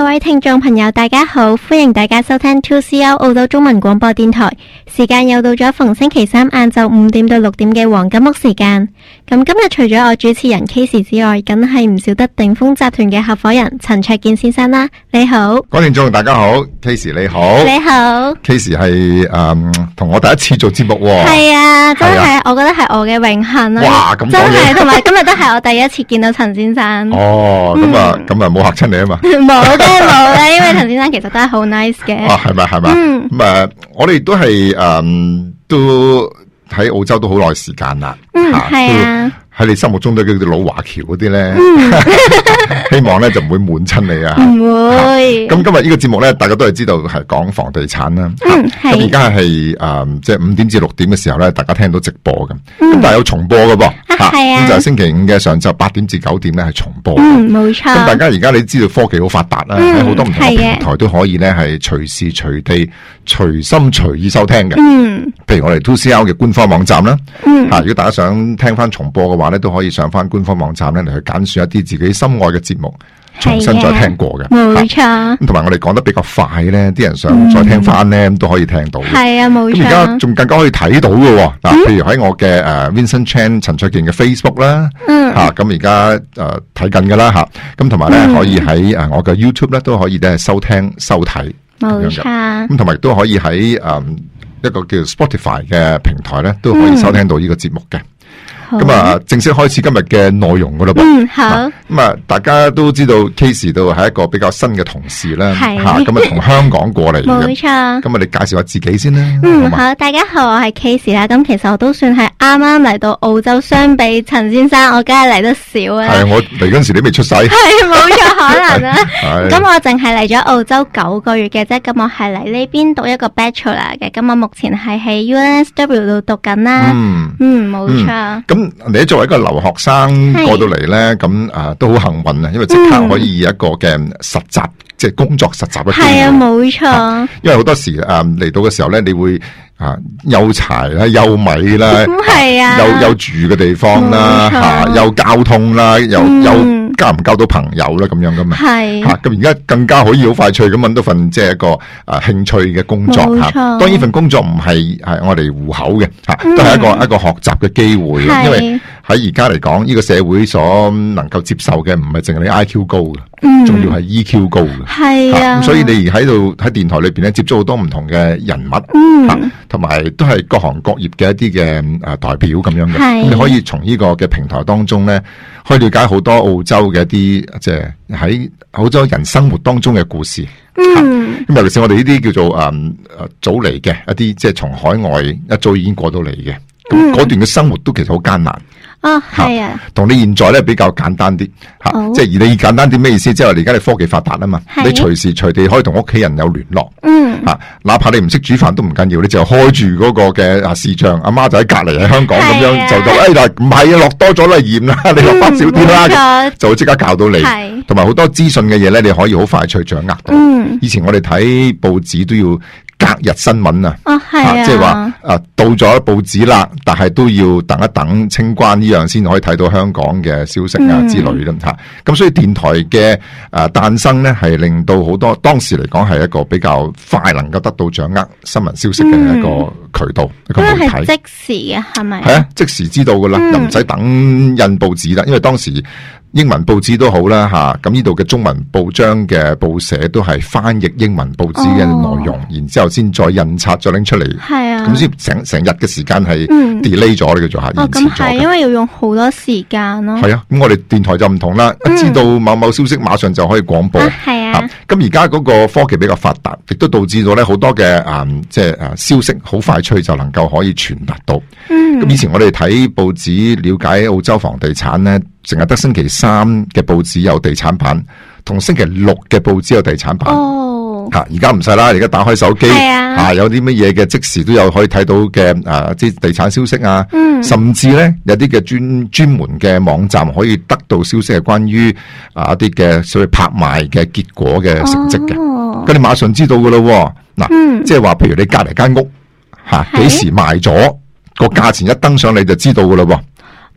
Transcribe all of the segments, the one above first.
位聽眾朋友大家好，歡迎大家收聽 2CR 澳洲中文廣播電台，時間又到咗逢星期三晏晝5點到6點嘅黃金屋時間。咁今日除咗我主持人 Casey 之外，梗係唔少得鼎豐集團嘅合夥人陳焯楗先生啦。你好，各位聽眾大家好 ，Casey 你好，你好 ，Casey 係同我第一次做節目喎。係啊，真係，我覺得係我嘅榮幸啦。哇，咁真係，同埋今日都係我第一次見到陳先生。哦，咁啊冇嚇親你啊嘛？冇嘅，因為陳先生其實都係好 nice 嘅。啊，係咪？咁我哋都係都喺澳洲都好耐時間啦。係啊。喺你心目中都叫做老華僑嗰啲咧，希望咧就唔會悶親你啊！唔會。咁今日呢個節目咧，大家都係知道係講房地產啦。咁而家係即係5點至6點嘅時候咧，大家聽到直播咁。咁但係有重播㗎噃。係啊。咁就係星期5嘅上晝8點至9點咧係重播。冇錯。咁大家而家你知道科技好發達啦，喺好多唔同嘅平台都可以咧係隨時隨地、隨心隨意收聽嘅。譬如我哋 2CR 嘅官方網站啦。如果大家想聽翻重播嘅話，都可以上翻官方網站咧嚟去揀選一啲自己心愛嘅節目，重新再聽過嘅。冇錯。咁同埋我哋講得比較快咧，啲人想再聽翻咧，都可以聽到。係啊，冇錯。咁而家仲更加可以睇到嘅。嗱，譬如喺我嘅Vincent Chan 陳焯楗嘅 Facebook 啦，咁而家睇緊噶啦吓。咁同埋咧可以喺我嘅 YouTube 咧都可以咧收聽收睇。冇錯。咁同埋都可以喺一個叫 Spotify 嘅平台咧都可以收聽到呢個節目嘅。咁啊，正式開始今日嘅內容噶啦噃。好。咁啊，大家都知道 Casey 都係一個比較新嘅同事啦。係。咁啊，從香港過嚟嘅。冇錯。咁啊，你介紹下自己先啦。好，大家好，我係 Casey 啦。咁其實我都算係啱啱嚟到澳洲，相比陳先生，我梗係嚟得少啊。係，我嚟嗰陣時你未出世。係，冇錯，可能啦。咁我淨係嚟咗澳洲9個月嘅啫。咁我係嚟呢邊讀一個 Bachelor 嘅。咁我目前係喺 UNSW 度讀緊啦。冇錯。你作為一個留學生過到嚟咧，咁都好幸運啊！因為即刻可以一個嘅實習，即係工作實習嘅機會。係啊，冇錯。因為好多時嚟到嘅時候咧，你會有柴啦，有米啦，係啊，有住嘅地方啦，有交通啦，有交唔交到朋友啦，咁樣噶嘛。係。咁而家更加可以好快脆咁搵到份即係一個興趣嘅工作吓。當然份工作唔係我哋戶口嘅吓，都係一個學習嘅機會。因為喺而家嚟講，呢個社會所能夠接受嘅唔係淨係你 IQ 高嘅，仲要係 EQ 高嘅。係啊。咁所以你喺度喺電台裏邊咧，接觸好多唔同嘅人物，同埋都係各行各業嘅一啲嘅代表咁樣嘅。咁你可以從呢個嘅平台當中咧，可以了解好多澳洲嘅一啲即係喺澳洲人生活當中嘅故事。咁尤其是我哋呢啲叫做早嚟嘅一啲，即係從海外一早已經過到嚟嘅，咁嗰段嘅生活都其實好艱難。係啊，同你現在咧比較簡單啲吓，即係而你簡單啲咩意思？即係話而家你科技發達啊嘛，你隨時隨地可以同屋企人有聯絡。哪怕你唔識煮飯都唔緊要，你就開住嗰個嘅視像，阿媽就喺隔籬喺香港咁樣就到，唔係啊，落多咗啦鹽啦，你落翻少啲啦，就會即刻教到你。同埋好多資訊嘅嘢咧，你可以好快脆掌握到。以前我哋睇報紙都要隔日新聞啊，即係話到咗報紙啦，但係都要等一等清關呢樣先可以睇到香港嘅消息啊之類啦吓。咁所以電台嘅誕生咧，係令到好多當時嚟講係一個比較快能夠得到掌握新聞消息嘅一個渠道，一個媒體。係即時嘅係咪？係啊，即時知道噶啦，又唔使等印報紙啦，因為當時英文報紙都好啦吓，咁呢度嘅中文報章嘅報社都係翻譯英文報紙嘅內容，然之後先再印刷再拎出嚟。係啊，咁先成日嘅時間係 delay 咗呢個做下延遲咗。咁係因為要用好多時間咯。係啊，咁我哋電台就唔同啦，知道某某消息馬上就可以廣播。係啊，咁而家嗰個科技比較發達，亦都導致到咧好多嘅即係消息好快脆就能夠可以傳達到。咁以前我哋睇報紙了解澳洲房地產咧，淨係得星期3嘅報紙有地產版，同星期6嘅報紙有地產版。而家唔使啦，而家打開手機，有啲乜嘢嘅即時都有可以睇到嘅啲地產消息啊。甚至咧有啲嘅專門嘅網站可以得到消息係關於一啲嘅所謂拍賣嘅結果嘅成績嘅。咁你馬上知道噶咯。嗱，即係話譬如你隔籬間屋幾時賣咗，個價錢一登上你就知道噶咯。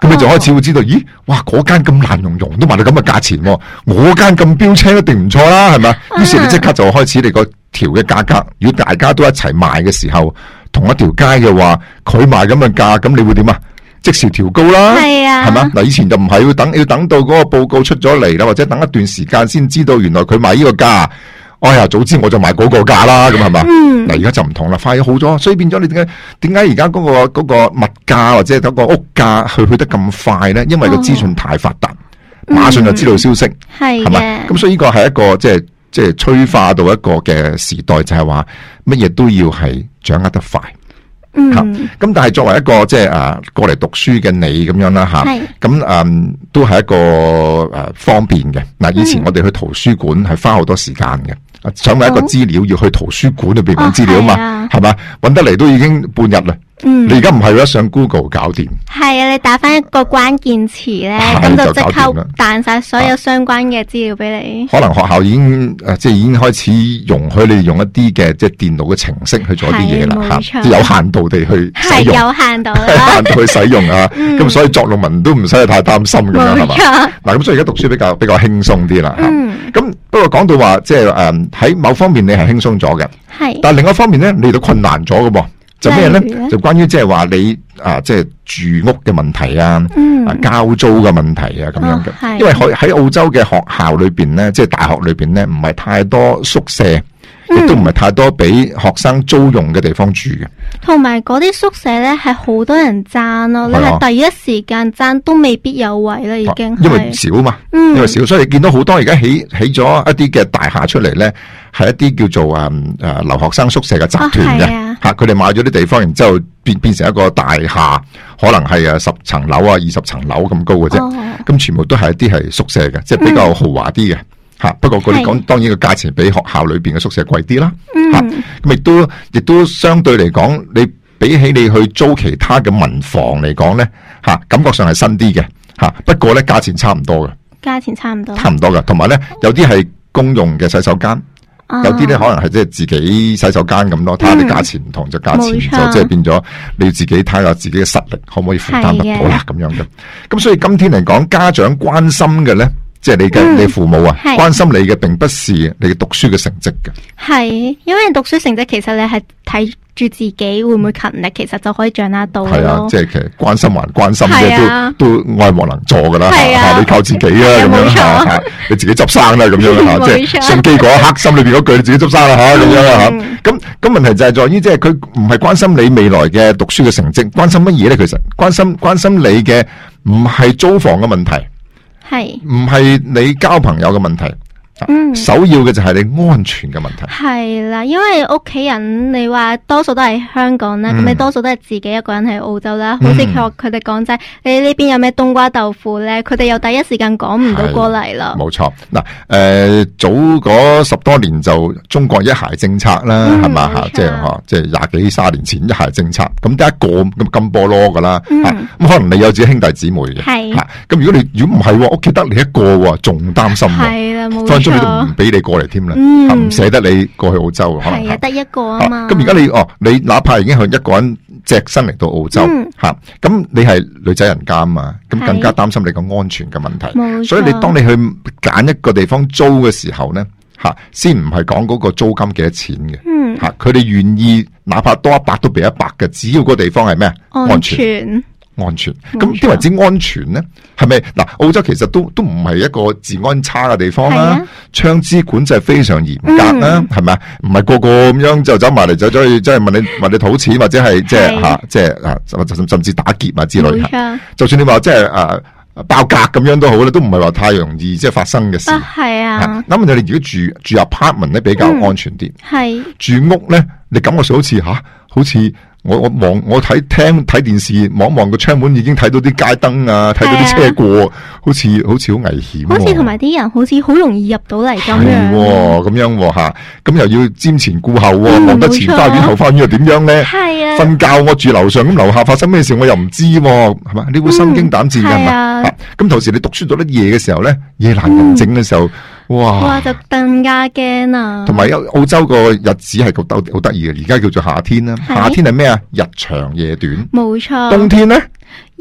咁你就開始會知道，咦，哇，嗰間咁爛溶溶都賣到咁嘅價錢，我間咁標青一定唔錯啦，係咪？於是你即刻就開始你個條嘅價格，如果大家都一齊賣嘅時候，同一條街嘅話，佢賣咁嘅價，咁你會點啊？即時調高啦，係啊，係嘛？嗱，以前就唔係要等到嗰個報告出咗嚟啦，或者等一段時間先知道原來佢賣呢個價。哎呀，早知我就賣嗰個價啦，咁係嘛？嗱，而家就唔同啦，快咗好多，所以變咗你點解而家嗰個物價或者嗰個屋價去得咁快咧？因為個資訊太發達，馬上就知道消息，係嘛？咁所以呢個係一個即係催化到一個嘅時代，就係話乜嘢都要係掌握得快。咁但係作為一個即係過嚟讀書嘅你咁樣啦吓，咁都係一個方便嘅。嗱，以前我哋去圖書館係花好多時間嘅。想揾一個資料要去圖書館裏邊揾資料啊嘛，係嘛？揾得嚟都已經半日啦。你而家唔係啦，上 Google 搞掂。係啊，你打翻一個關鍵詞咧，咁就即刻彈晒所有相關嘅資料俾你。可能學校已經即係已經開始容許你用一啲嘅即係電腦嘅程式去做一啲嘢啦，吓，即係有限度地去使用。係有限度啦，有限度去使用啊。咁所以作論文都唔使太擔心咁樣，係嘛？嗱，咁所以而家讀書比較輕鬆啲啦。咁不過講到話即係喺某方面你係輕鬆咗嘅，係，但係另一方面咧，你都困難咗嘅噃。就咩咧？就關於即係話你即係住屋嘅問題啊，交租嘅問題啊，咁樣嘅。因為喺澳洲嘅學校裏邊咧，即係大學裏邊咧，唔係太多宿舍，亦都唔係太多俾學生租用嘅地方住嘅。同埋嗰啲宿舍咧係好多人爭咯，你係第一時間爭都未必有位啦，已經。因為少嘛，因為少，所以你見到好多而家起咗一啲嘅大廈出嚟咧，係一啲叫做留學生宿舍嘅集團嘅。佢哋買咗啲地方，然之後變成一個大廈，可能係10層樓啊、20層樓咁高嘅啫。咁全部都係一啲係宿舍嘅，即係比較豪華啲嘅。不過佢哋講，當然個價錢比學校裏邊嘅宿舍貴啲啦。咁亦都相對嚟講，你比起你去租其他嘅民房嚟講咧，感覺上係新啲嘅。不過咧，價錢差唔多嘅。價錢差唔多。差唔多嘅，同埋咧，有啲係公用嘅洗手間。有啲咧可能係即係自己洗手間咁咯，睇下啲價錢唔同就價錢就即係變咗你要自己睇下自己嘅實力可唔可以負擔得到啦咁樣嘅。咁所以今天嚟講，家長關心嘅咧，即係你父母啊，關心你嘅並不是你嘅讀書嘅成績嘅。係，因為讀書成績其實你係睇住自己會唔會勤力，其實就可以掌握到咯。係啊，即係其實關心還關心嘅，都愛莫能助噶啦。係啊，你靠自己啊咁樣吓，你自己執生啦咁樣吓，即係上機嗰一刻心裏邊嗰句你自己執生啦吓咁樣吓。咁問題就係在於即係佢唔係關心你未來嘅讀書嘅成績，關心乜嘢咧？其實關心你嘅唔係租房嘅問題，係唔係你交朋友嘅問題。首要嘅就係你安全嘅問題。係啦，因為屋企人你話多數都係香港啦，咁你多數都係自己一個人喺澳洲啦。好似佢哋講齋，你呢邊有咩冬瓜豆腐咧，佢哋又第一時間講唔到過嚟啦。冇錯，嗱，早嗰10多年就中國一孩政策啦，係嘛吓，即係20幾30年前一孩政策，咁得一個咁金菠蘿噶啦，咁可能你有自己兄弟姊妹嘅，係，咁如果唔係屋企得你一個，仲擔心。係啦，冇錯。你都唔俾你過嚟添啦，唔捨得你過去澳洲，可能係啊，得一個啊嘛。咁而家你哪怕已經係一個人隻身嚟到澳洲，咁你係女仔人家啊嘛，咁更加擔心你個安全嘅問題。所以你當你去揀一個地方租嘅時候咧，先唔係講嗰個租金幾多錢嘅，佢哋願意哪怕多100都俾100嘅，只要個地方係咩安全。安全，咁點為之安全咧？係咪嗱？澳洲其實都唔係一個治安差嘅地方啦，槍支管制非常嚴格啦，係咪啊？唔係個個咁樣就走埋嚟，走咗去即係問你討錢，或者係即係甚至打劫啊之類。就算你話即係爆格咁樣都好咧，都唔係話太容易即係發生嘅事。係啊，咁你哋如果住 apartment 咧比較安全啲，係住屋咧，你感覺上好似。我睇電視望個窗門，已經睇到啲街燈啊，睇到啲車過，好似好危險。好似同埋啲人好似好容易入到嚟咁樣。咁樣吓，咁又要瞻前顧後，望得前花園後花園又點樣咧？係啊，瞓覺我住樓上，咁樓下發生咩事我又唔知，係嘛？你會心驚膽戰㗎嘛？咁同時你讀書到得夜嘅時候咧，夜闌人靜嘅時候。哇！就更加驚啊！同埋澳洲個日子係好得意嘅，而家叫做夏天啦。夏天係咩啊？日長夜短。冇錯。冬天咧？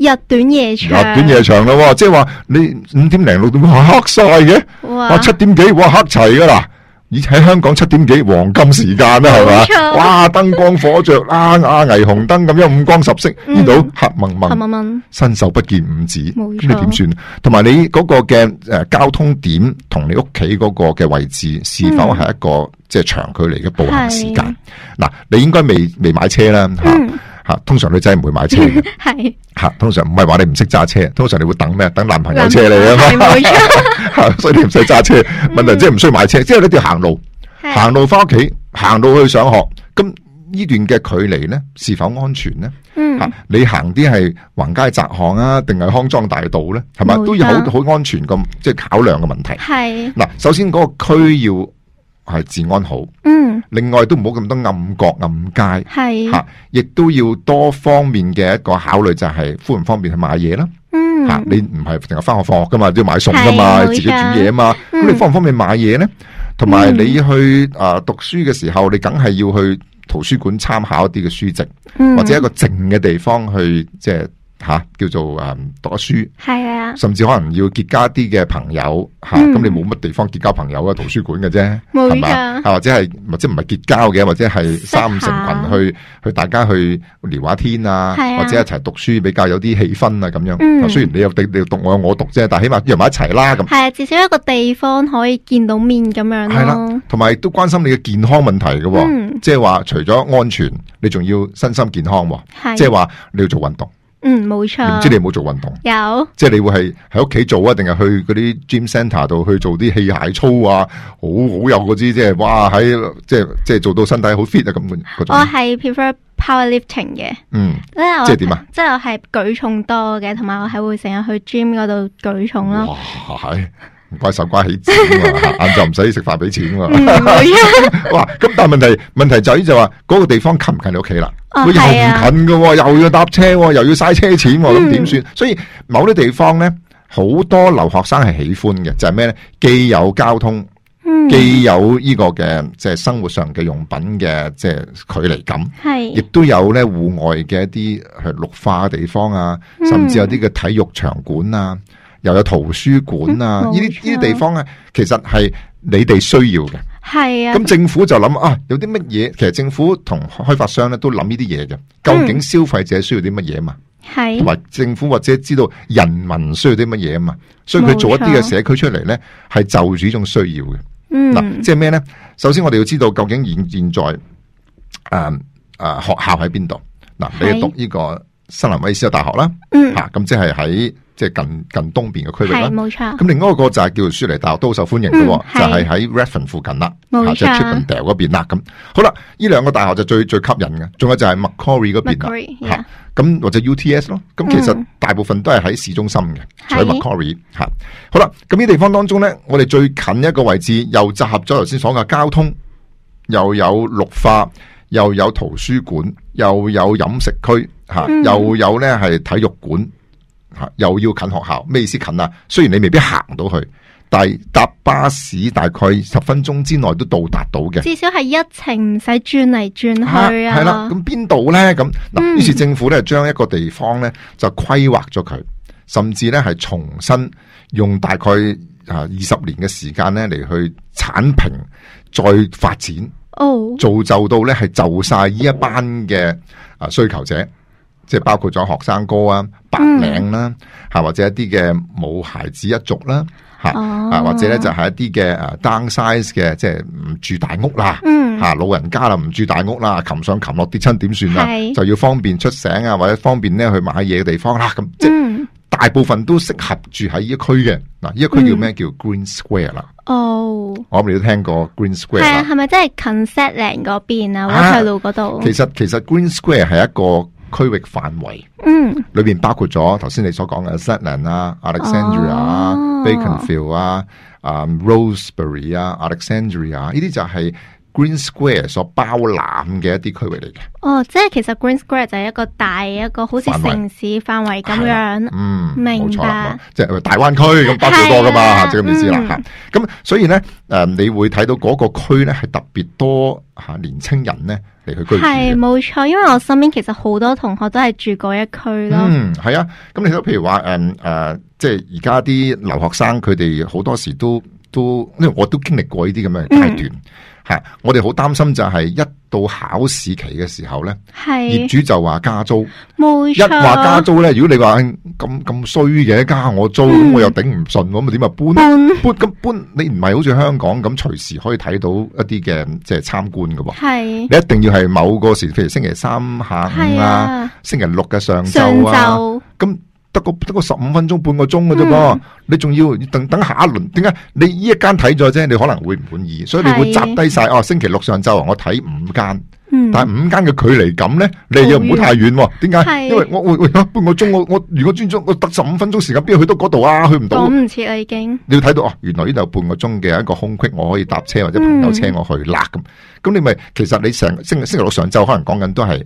日短夜長， 日短夜長咯，即係話你5點零6點哇黑晒嘅，哇7點幾哇黑齊噶啦。而喺香港7點幾黃金時間啦，係嘛？哇，燈光火著啦，霓虹燈咁樣五光十色，呢度黑蒙蒙，伸手不見五指，咁你點算？同埋你嗰個嘅交通點同你屋企嗰個嘅位置，是否係一個即係長距離嘅步行時間？嗱，你應該未買車啦，吓，通常女仔唔會買車嘅，係吓，通常唔係話你唔識揸車，通常你會等咩？等男朋友車你啊嘛，所以你唔使揸車。問題即係唔需要買車，即係你要行路，行路翻屋企，行路去上學。咁呢段嘅距離咧，是否安全咧？吓，你行啲係橫街窄巷啊，定係康莊大道咧？係咪都有好安全咁，即係考量嘅問題。係嗱，首先嗰個區要係治安好，另外都唔好咁多暗角暗街，係吓，亦都要多方面嘅一個考慮，就係方唔方便去買嘢啦。吓，你唔係淨係翻學放學噶嘛，都要買餸噶嘛，自己煮嘢啊嘛。咁你方唔方便買嘢咧？同埋你去讀書嘅時候，你梗係要去圖書館參考一啲嘅書籍，或者一個靜嘅地方去即係。叫做讀書，係啊，甚至可能要結交一啲嘅朋友吓，咁你冇乜地方結交朋友啊？圖書館嘅啫，係嘛？或者唔係結交嘅，或者係3、5成群去大家去聊下天啊，或者一齊讀書比較有啲氣氛啊咁樣。雖然你有讀我有我讀啫，但係起碼約埋一齊啦咁。係啊，至少一個地方可以見到面咁樣咯。係啦，同埋都關心你嘅健康問題嘅，即係話除咗安全，你仲要身心健康，即係話你要做運動。冇錯。唔知你有冇做運動？有。即係你會係喺屋企做啊，定係去嗰啲 gym centre 度去做啲器械操啊？好有嗰啲即係哇喺即係做到身體好 fit 啊咁嗰種。我係 prefer powerlifting 嘅。即係點啊？即係我係舉重多嘅，同埋我係會成日去 gym 嗰度舉重咯。哇，係。唔怪手瓜起錢喎，晏晝唔使食飯俾錢喎。哇！咁但係問題就係就話嗰個地方近唔近你屋企啦？佢又唔近㗎，又要搭車，又要嘥車錢，咁點算？所以某啲地方咧，好多留學生係喜歡嘅，就係咩咧？既有交通，既有呢個嘅即係生活上嘅用品嘅即係距離感，係亦都有咧戶外嘅一啲係綠化嘅地方啊，甚至有啲嘅體育場館啊。又有圖書館啊！呢啲地方咧，其實係你哋需要嘅。係啊。咁政府就諗啊，有啲乜嘢？其實政府同開發商咧都諗呢啲嘢嘅。究竟消費者需要啲乜嘢嘛？係。同埋政府或者知道人民需要啲乜嘢啊嘛？所以佢做一啲嘅社區出嚟咧，係就住呢種需要嘅。嗱，即係咩咧？首先我哋要知道究竟現在學校喺邊度？嗱，你讀呢個新南威爾斯大學啦。咁即係喺。即係近東邊嘅區域啦，冇錯。咁另外一個就係叫做雪梨大學，都好受歡迎嘅，就係喺 Redfern 附近啦，即係 Chippendale 嗰邊啦。咁好啦，呢兩個大學就最吸引嘅，仲有就係 Macquarie 嗰邊吓，咁或者 UTS 咯。咁其實大部分都係喺市中心嘅，喺 Macquarie 吓。好啦，咁呢地方當中咧，我哋最近一個位置又集合咗頭先所講嘅交通，又有綠化，又有圖書館，又有飲食區吓，又有咧係體育館。又要近學校，咩意思近啊？雖然你未必行到去，但係搭巴士大概10分鐘之內都到達到嘅。至少係一程唔使轉嚟轉去啊。係啦，咁邊度咧？咁嗱，於是政府咧將一個地方咧就規劃咗佢，甚至咧係重新用大概20年嘅時間咧嚟去剷平再發展，造就到咧係就晒呢一班嘅需求者。即係包括咗學生哥啊、白領啦，或者一啲嘅冇孩子一族啦，或者咧就係一啲嘅downsize 嘅，即係唔住大屋啦，老人家啦唔住大屋啦，擒上擒落跌親點算啊？就要方便出醒啊，或者方便咧去買嘢嘅地方啦，咁即係大部分都適合住喺呢一區嘅。嗱，呢一區叫咩？叫 Green Square 啦。我諗你都聽過 Green Square 啦。係啊，係咪真係近 Zetland 嗰邊啊？溫翠路嗰度。其實 Green Square 係一個區域範圍，裏邊包括咗頭先你所講嘅 Zetland 啊、Alexandria、Beaconsfield 啊、Rosebery 啊、Alexandria 呢啲就係 Green Square 所包攬嘅一啲區域嚟嘅。 哦，即係其實 Green Square 就係一個大一個好似城市範圍咁樣。明白。即係大灣區咁包好多噶嘛，即係咁意思啦吓。咁所以咧， 你會睇到嗰個區咧係特別多年青人咧嚟去居住。 係冇錯，因為我身邊其實好多同學都係住嗰一區咯。 係啊。咁你睇到譬如話即係而家啲留學生佢哋好多時都，因為我都經歷過呢啲咁嘅階段。我哋好擔心就係一到考試期嘅時候咧，業主就話加租， 冇錯。 一話加租咧，如果你話咁衰嘅加我租，咁我又頂唔順，咁咪點啊搬？你唔係好似香港咁隨時可以睇到一啲嘅即係參觀㗎喎，你一定要係某個時，譬如星期三下午啊，星期六嘅上晝啊，咁。得個15分鐘半個鐘嘅啫噃，你仲要等下一輪？點解你呢一間睇咗啫？你可能會唔滿意，所以你會集低晒。星期六上晝我睇5間，但係5間嘅距離感咧，你又唔好太遠。點解？因為我會半個鐘，我如果專注我得15分鐘時間，邊去到嗰度啊？去唔到。 講唔切啦，已經。 你要睇到原來呢度半個鐘嘅一個空隙，我可以搭車或者朋友車我去啦咁。你咪其實你成星期六上晝可能講緊都係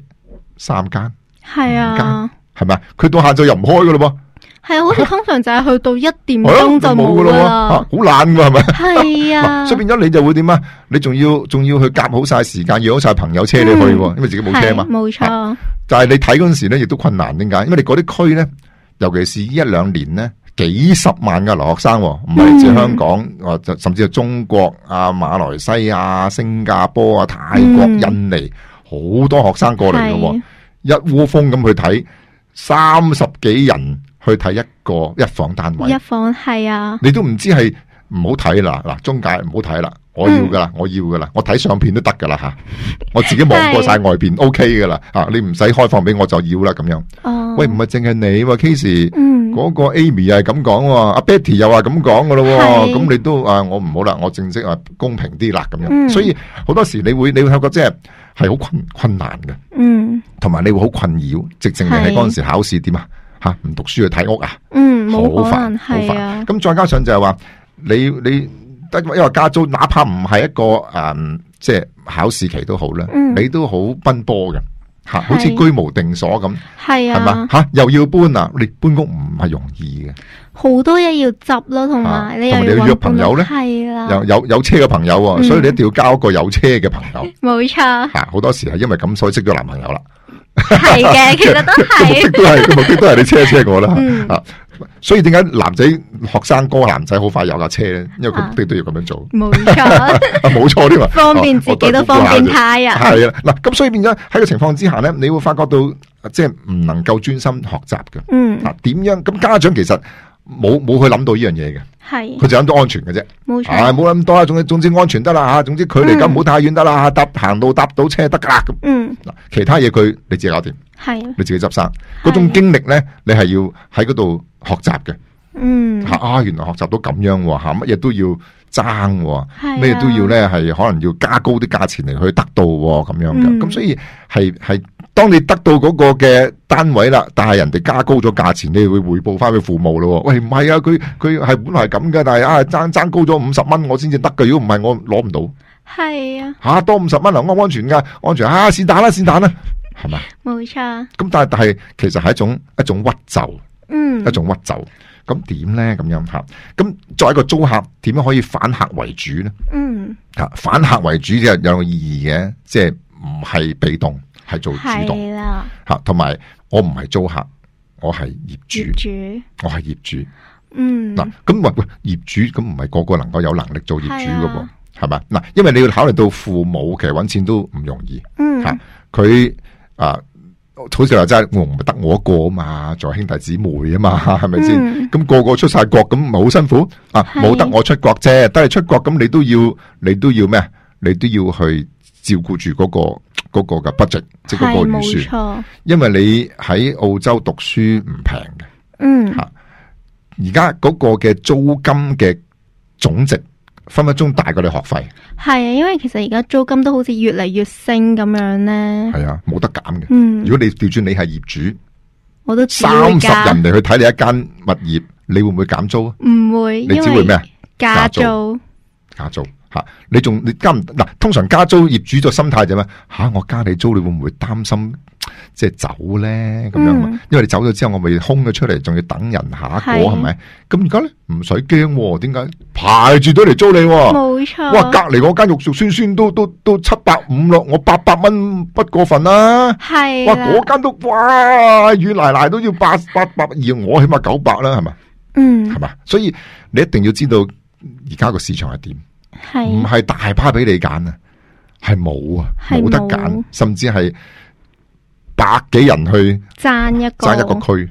3間， 係啊。 係咪？佢到下晝又唔開噶咯噃？ 係啊，好似通常就係去到1點鐘就冇噶啦， 好懶噶係咪？ 係啊， 所以變咗你就會點啊？你仲要去夾好晒時間，約好晒朋友車你去，因為自己冇車嘛。 冇錯。 但係你睇嗰陣時咧，亦都困難。點解？因為你嗰啲區咧，尤其是呢1-2年咧，幾十萬嘅留學生，唔係嚟自香港，甚至係中國啊、馬來西亞、新加坡啊、泰國、印尼，好多學生過嚟嘅，一窩蜂咁去睇。30幾人去睇一房單位， 一房係啊， 你都唔知係唔好睇啦，嗱，中介唔好睇啦，我要噶啦，我睇相片都得噶啦吓，我自己望過晒外邊 OK 噶啦吓，你唔使開放俾我就要啦咁樣。哦，喂，唔係淨係你，Casey，嗰個 Amy 又係咁講，阿 Betty 又話咁講噶咯，咁你都我唔好啦，我正式公平啲啦咁樣。所以好多時你會發覺即係好困難嘅，同埋你會好困擾，直情你喺嗰陣時考試點啊吓，唔讀書去睇屋啊，冇可能，好煩。咁再加上就係話你得因為加租，哪怕唔係一個即係考試期都好啦，你都好奔波嘅吓，好似居無定所咁，係嘛吓，又要搬啊，你搬屋唔係容易嘅，好多嘢要執咯，同埋你要約朋友咧，係啦，有車嘅朋友，所以你一定要交一個有車嘅朋友，冇錯吓，好多時係因為咁所以識咗男朋友啦。係嘅，其實都係，目的都係你車我啦，所以點解男仔學生哥男仔好快有架車咧？因為佢目的都要咁樣做，冇錯，冇錯添嘛，方便自己都方便他人，係啊，嗱，咁所以變咗喺個情況之下咧，你會發覺到即係唔能夠專心學習嘅，嗱，點樣？咁家長其實冇去諗到呢樣嘢嘅。係，佢就諗到安全嘅啫，冇錯，冇諗咁多啦。總之安全得啦吓，總之距離咁唔好太遠得啦，行路搭到車得噶啦咁。嗱，其他嘢你自己搞掂，係，你自己執生。嗰種經歷咧，你係要喺嗰度學習嘅。原來學習到咁樣吓，乜嘢都要爭，咩都要咧係可能要加高啲價錢嚟去得到咁樣嘅。咁所以係。當你得到嗰個嘅單位啦，但係人哋加高咗價錢，你會匯報翻俾父母咯。喂，唔係啊，佢係本來係咁嘅，但係爭高咗50蚊，我先至得嘅。如果唔係，我攞唔到。係啊，多50蚊啊，安全噶，安全啊，是但啦，係咪？冇錯。咁但係其實係一種屈就，一種屈就。咁點咧？咁樣吓，咁作為一個租客，點樣可以反客為主咧？反客為主就有個意義嘅，即係唔係被動。係做主動吓，同埋我唔係租客，我係業主，我係業主。嗱，咁喂，業主咁唔係個個能夠有能力做業主噶噃，係嘛？嗱，因為你要考慮到父母其實搵錢都唔容易，吓佢好似話齋，我唔係得我一個啊嘛，仲有兄弟姊妹啊嘛，係咪先？咁個個出晒國，咁咪好辛苦啊！冇得我出國啫，得你出國，咁你都要咩？你都要去照顧住嗰個嘅 budget， 即係嗰個預算，因為你喺澳洲讀書唔平嘅，而家嗰個嘅租金嘅總值分分鐘大過你學費，係啊，因為其實而家租金都好似越嚟越升咁樣咧，係啊，冇得減嘅。如果你調轉你係業主，我都30人嚟去睇你一間物業，你會唔會減租啊？唔會，你只會咩啊？加租。 吓，你加唔嗱？通常加租業主個心態就咩？我加你租，你會唔會擔心即係走咧？咁樣，因為你走咗之後，我咪空咗出嚟，仲要等人下一個係咪？咁而家咧唔使驚，點解排住隊嚟租你？ 冇錯。 哇，隔籬嗰間肉肉酸酸都750咯，我800蚊不過分啦。係。哇，嗰間都哇軟賴賴都要800，而我起碼900啦，係咪？係嘛？所以你一定要知道而家個市場係點。唔係大把俾你揀啊，係冇啊，冇得揀，甚至係百幾人去爭一個區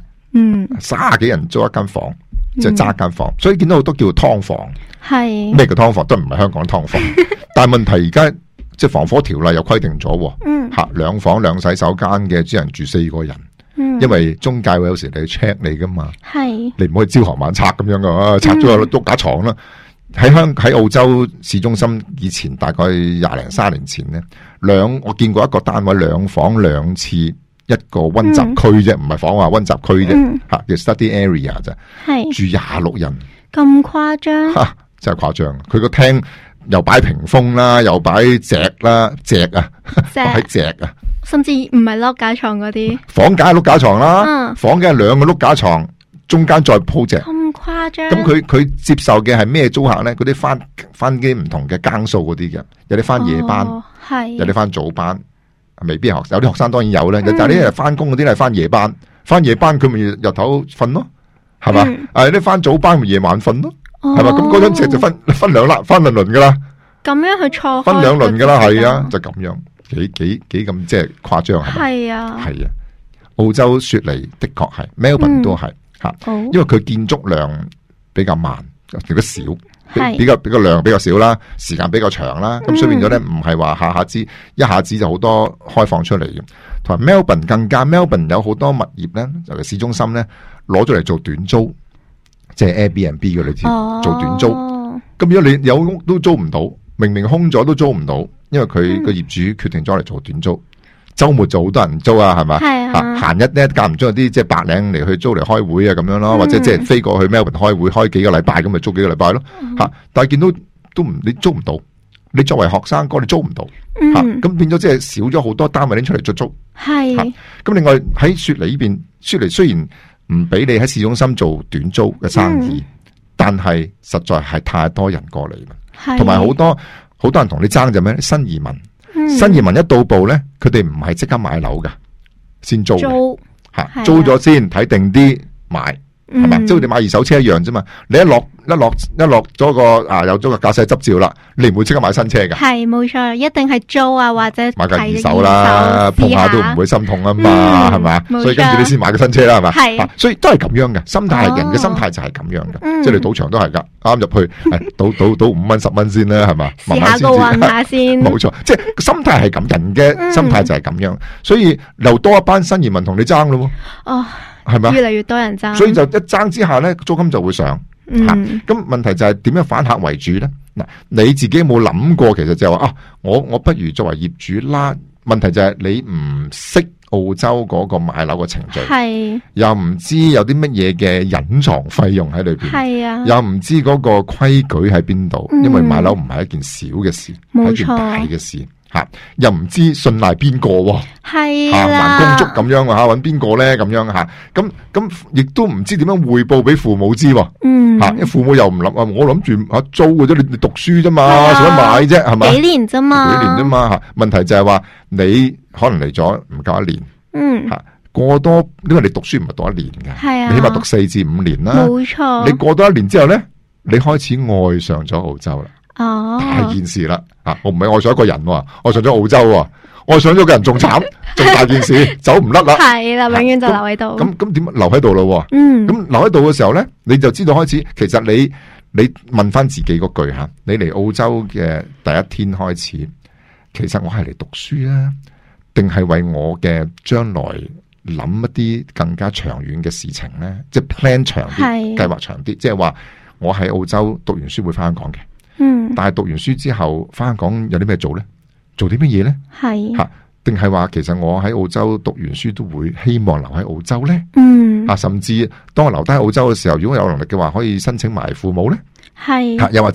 ，30幾人租一間房，即係爭一間房，所以見到好多叫劏房，係咩叫劏房？都唔係香港劏房，但係問題而家即係防火條例又規定咗，吓2房2洗手間嘅只能住4個人，因為中介會有時嚟 check 你噶嘛，係你唔可以朝行晚拆咁樣噶，拆咗個碌架床啦。喺澳洲市中心以前大概20零30年前咧，我見過一個單位2房2廁一個溫習區啫，唔係房啊，溫習區啫，吓叫 study area 啫，住26人， 咁誇張？ 吓真係誇張！佢個廳又擺屏風啦，又擺席啦，擺席啊， 甚至唔係碌架床嗰啲房，梗係碌架床啦，房梗係2個碌架床，中間再鋪席。 誇張。 咁佢接受嘅係咩租客咧？嗰啲翻啲唔同嘅更數嗰啲嘅，有啲翻夜班，有啲翻早班，未必係學生，有啲學生當然有咧。但係呢啲翻工嗰啲係翻夜班，翻夜班佢咪日頭瞓咯，係嘛？有啲翻早班咪夜晚瞓咯，係嘛？咁嗰張席就分兩輪噶啦。咁樣去錯分兩輪噶啦，係啊，就咁樣，幾咁即係誇張係咪？係啊，係啊。澳洲雪梨的確係 ，Melbourne 都係。因為佢建築量比較慢，比較少，比較量比較少啦，時間比較長啦，咁所以變咗咧，唔係話一下子就好多開放出嚟嘅。同埋 Melbourne 更加 Melbourne 有好多物業咧，尤其市中心咧，攞咗嚟做短租，即係 Airbnb 嘅，你知做短租。咁如果你有屋都租唔到，明明空咗都租唔到，因為佢個業主決定咗嚟做短租。周末就好多人租啊，係咪？閒日咧間唔中有啲即係白領嚟去租嚟開會啊咁樣咯，或者即係飛過去 Melbourne 開會，開幾個禮拜咁咪租幾個禮拜咯。但係見到你租唔到，你作為學生哥你租唔到，咁變咗即係少咗好多單位拎出嚟出租。咁另外喺雪梨呢邊，雪梨雖然唔俾你喺市中心做短租嘅生意，但係實在係太多人過嚟啦，同埋好多人同你爭就咩？新移民。新移民一到埗咧，佢哋唔係即刻買樓噶，先租嘅，租咗先睇定啲買，係咪？即係你買二手車一樣啫嘛。你一落咗個有咗個駕駛執照啦，你唔會即刻買新車噶。係冇錯，一定係租啊，或者買個二手啦，碰下都唔會心痛啊嘛，係咪？所以跟住你先買個新車啦，係咪？係，所以都係咁樣嘅心態，人嘅心態就係咁樣嘅，即係你賭場都係噶，啱入去賭5蚊10蚊先啦，係嘛？試下個運下先，冇錯，即係心態係咁，人嘅心態就係咁樣，所以又多一班新移民同你爭咯。哦，係咪？越嚟越多人爭，所以就一爭之下咧，租金就會上。咁問題就係點樣反客為主咧？嗱，你自己有冇諗過？其實就係話我不如作為業主啦。問題就係你唔識澳洲嗰個買樓嘅程序，係又唔知有啲乜嘢嘅隱藏費用喺裏邊，係啊，又唔知嗰個規矩喺邊度，因為買樓唔係一件小嘅事，係一件大嘅事。又唔知信賴邊個，係還公足咁樣搵邊個咧咁樣吓，咁亦都唔知點樣匯報俾父母知，因為父母又唔諗我諗住租嘅啫，你讀書啫嘛，使乜買啫，係咪？幾年啫嘛，吓，問題就係話你可能嚟咗唔夠1年，吓過多，因為你讀書唔係讀1年嘅，你起碼讀4至5年啦，冇錯。你過多1年之後咧，你開始愛上咗澳洲啦。大件事啦，我唔係愛上一個人，愛上咗澳洲，愛上咗個人仲慘，仲大件事，走唔甩啦。係啦，永遠就留喺度。咁點留喺度咯？咁留喺度嘅時候咧，你就知道開始，其實你問翻自己嗰句吓，你嚟澳洲嘅第一天開始，其實我係嚟讀書啊，定係為我嘅將來諗一啲更加長遠嘅事情咧？即係 plan 長啲，計劃長啲，即係話我喺澳洲讀完書會翻香港嘅。但係讀完書之後翻香港有啲咩做咧？做啲乜嘢咧？係吓，定係話其實我喺澳洲讀完書都會希望留喺澳洲咧？甚至當我留低喺澳洲嘅時候，如果有能力嘅話，可以申請埋父母咧？係又或者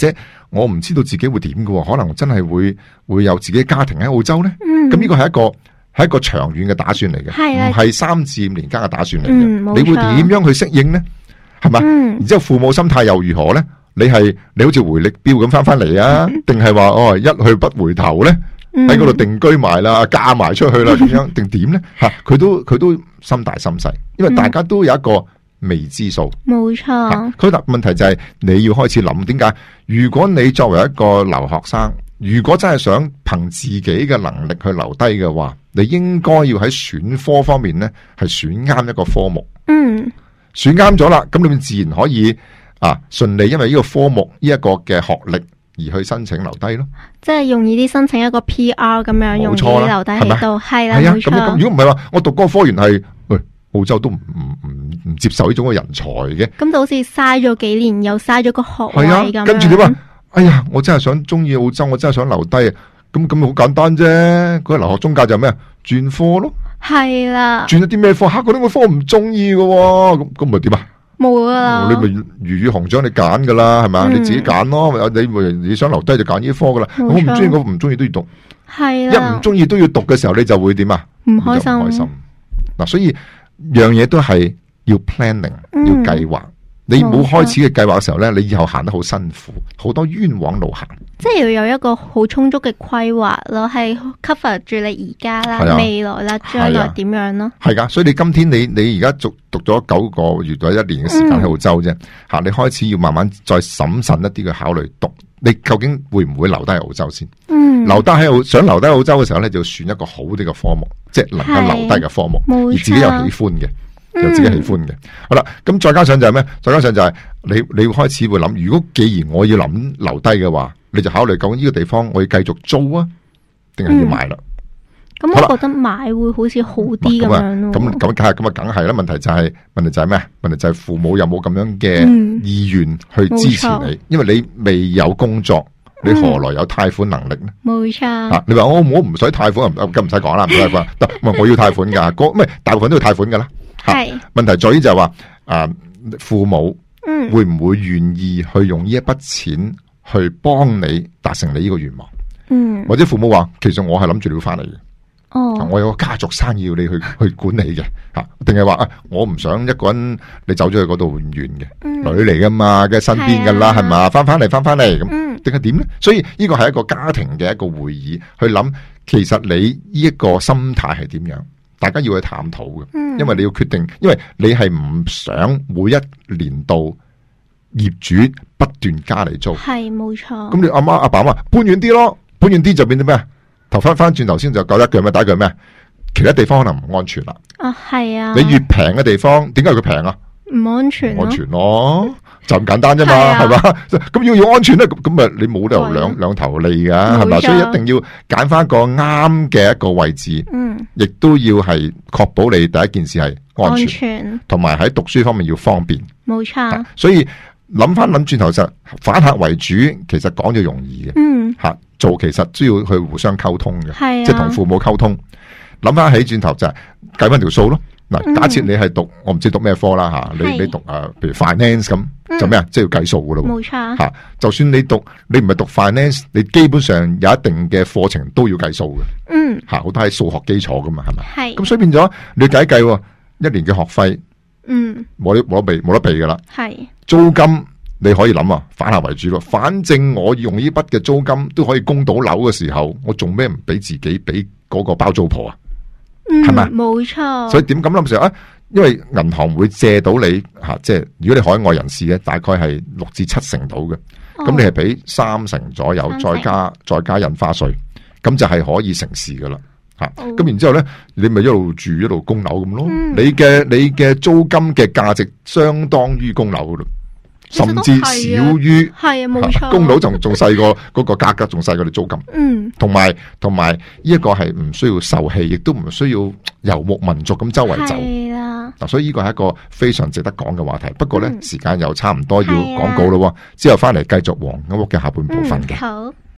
我唔知道自己會點嘅，可能真係會有自己家庭喺澳洲咧。咁呢個係一個長遠嘅打算嚟嘅，唔係3至5年間嘅打算嚟嘅。你會點樣去適應咧？係嘛？然之後父母心態又如何咧？你好似回力鏢咁翻嚟啊？定係話一去不回頭咧？喺嗰度定居埋啦，嫁埋出去啦，點樣定點咧？吓，佢都心大心細，因為大家都有一個未知數。 冇錯。佢問題就係你要開始諗，點解？如果你作為一個留學生，如果真係想憑自己嘅能力去留低嘅話，你應該要喺選科方面咧係選啱一個科目。選啱咗啦，咁你自然可以順利，因為呢個科目呢一個嘅學歷而去申請留低咯。即係容易啲申請一個 PR 咁樣，容易留低喺度。係啦，冇錯。 咁如果唔係話，我讀嗰個科員係，澳洲都唔接受呢種嘅人才嘅。咁就好似嘥咗幾年，又嘥咗個學位咁樣。 跟住你話，哎呀，我真係中意澳洲，我真係想留低啊！咁好簡單啫，嗰個留學中介就係咩啊？轉科咯。係啦。轉咗啲咩科？嗰啲個科唔中意嘅，咁咪點啊？冇啊！你咪魚與熊掌你揀噶啦，係咪？你自己揀咯。你想留低就揀呢科噶啦。我唔中意，我唔中意都要讀。係啦。一唔中意都要讀嘅時候，你就會點啊？唔開心。嗱，所以樣嘢都係要 planning，要計劃。你冇開始嘅計劃嘅時候咧，你以後行得好辛苦，好多冤枉路行。即係要有一個好充足嘅規劃咯，係 cover 住你而家啦、未來啦、將來點樣咯。係噶，所以你今天你而家讀咗9個月或者1年嘅時間喺澳洲啫，吓，你開始要慢慢再審慎一啲嘅考慮讀，你究竟會唔會留低喺澳洲先？想留低喺澳洲嘅時候咧，就要選一個好啲嘅科目，即係能夠留低嘅科目，而自己又喜歡嘅。有自己喜歡嘅，好啦，咁再加上就係咩？再加上就係你要開始會諗，如果既然我要諗留低嘅話，你就考慮究竟呢個地方我要繼續租啊，定係要買啦？咁我覺得買會好似好啲咁樣咯。咁梗係啦。問題就係咩？問題就係父母有冇咁樣嘅意願去支持你？因為你未有工作，你何來有貸款能力呢？冇錯。你話我唔使貸款，咁唔使講啦，唔使貸款。我要貸款噶，咩大部分都要貸款噶啦。係問題在於就係話父母會唔會願意去用呢一筆錢去幫你達成你呢個願望？或者父母話其實我係諗住你要翻嚟嘅，我有個家族生意要你去管理嘅，定係話我唔想一個人你走咗去嗰度遠嘅，女嚟噶嘛，嘅身邊噶啦，係嘛，翻嚟咁，定係點咧？所以呢個係一個家庭嘅一個會議去諗，其實你呢一個心態係點樣？大家要去探討嘅，因為你要決定，因為你係唔想每一年度業主不斷加嚟租，係冇錯。咁你阿媽阿爸話搬遠啲咯，搬遠啲就變咗咩啊？頭翻轉頭先就講一句咩？第一句咩？其他地方可能唔安全啦。係啊。你越平嘅地方，點解佢平啊？唔安全，安全咯，就咁簡單啫嘛，係嘛？咁要安全咧，咁咪你冇理由兩頭利噶，係嘛？所以一定要揀翻個啱嘅一個位置，亦都要係確保你第一件事係安全，同埋喺讀書方面要方便，冇錯。所以諗轉頭就反客為主，其實講就容易嘅，吓做其實都要去互相溝通嘅，即係同父母溝通。諗翻起轉頭就係計翻條數咯。嗱，假設你係讀，我唔知讀咩科啦吓，你讀譬如 finance 咁，就咩啊？即係要計數噶咯，冇錯吓。就算你唔係讀 finance，你基本上有一定嘅課程都要計數嘅，吓好多係數學基礎噶嘛，係咪？係。咁所以變咗你要計一年嘅學費，冇得避噶啦。係。租金你可以諗啊，反客為主咯。反正我用呢筆嘅租金都可以供到樓嘅時候，我做咩唔俾自己俾嗰個包租婆啊？係咪？冇錯。所以點咁諗時候啊？因為銀行會借到你吓，即係如果你海外人士咧，大概係6至7成到嘅，咁你係俾3成左右，再加印花稅，咁就係可以成事噶啦吓。咁然之後咧，你咪一路住一路供樓咁咯。你嘅租金嘅價值相當於供樓噶啦。甚至少於係啊，冇錯，供樓仲細過嗰個價格，仲細過你租金。同埋呢一個係唔需要受氣，亦都唔需要游牧民族咁周圍走。係啦，嗱，所以呢個係一個非常值得講嘅話題。不過咧，時間又差唔多要廣告咯，之後翻嚟繼續黃金屋嘅下半部分嘅。好。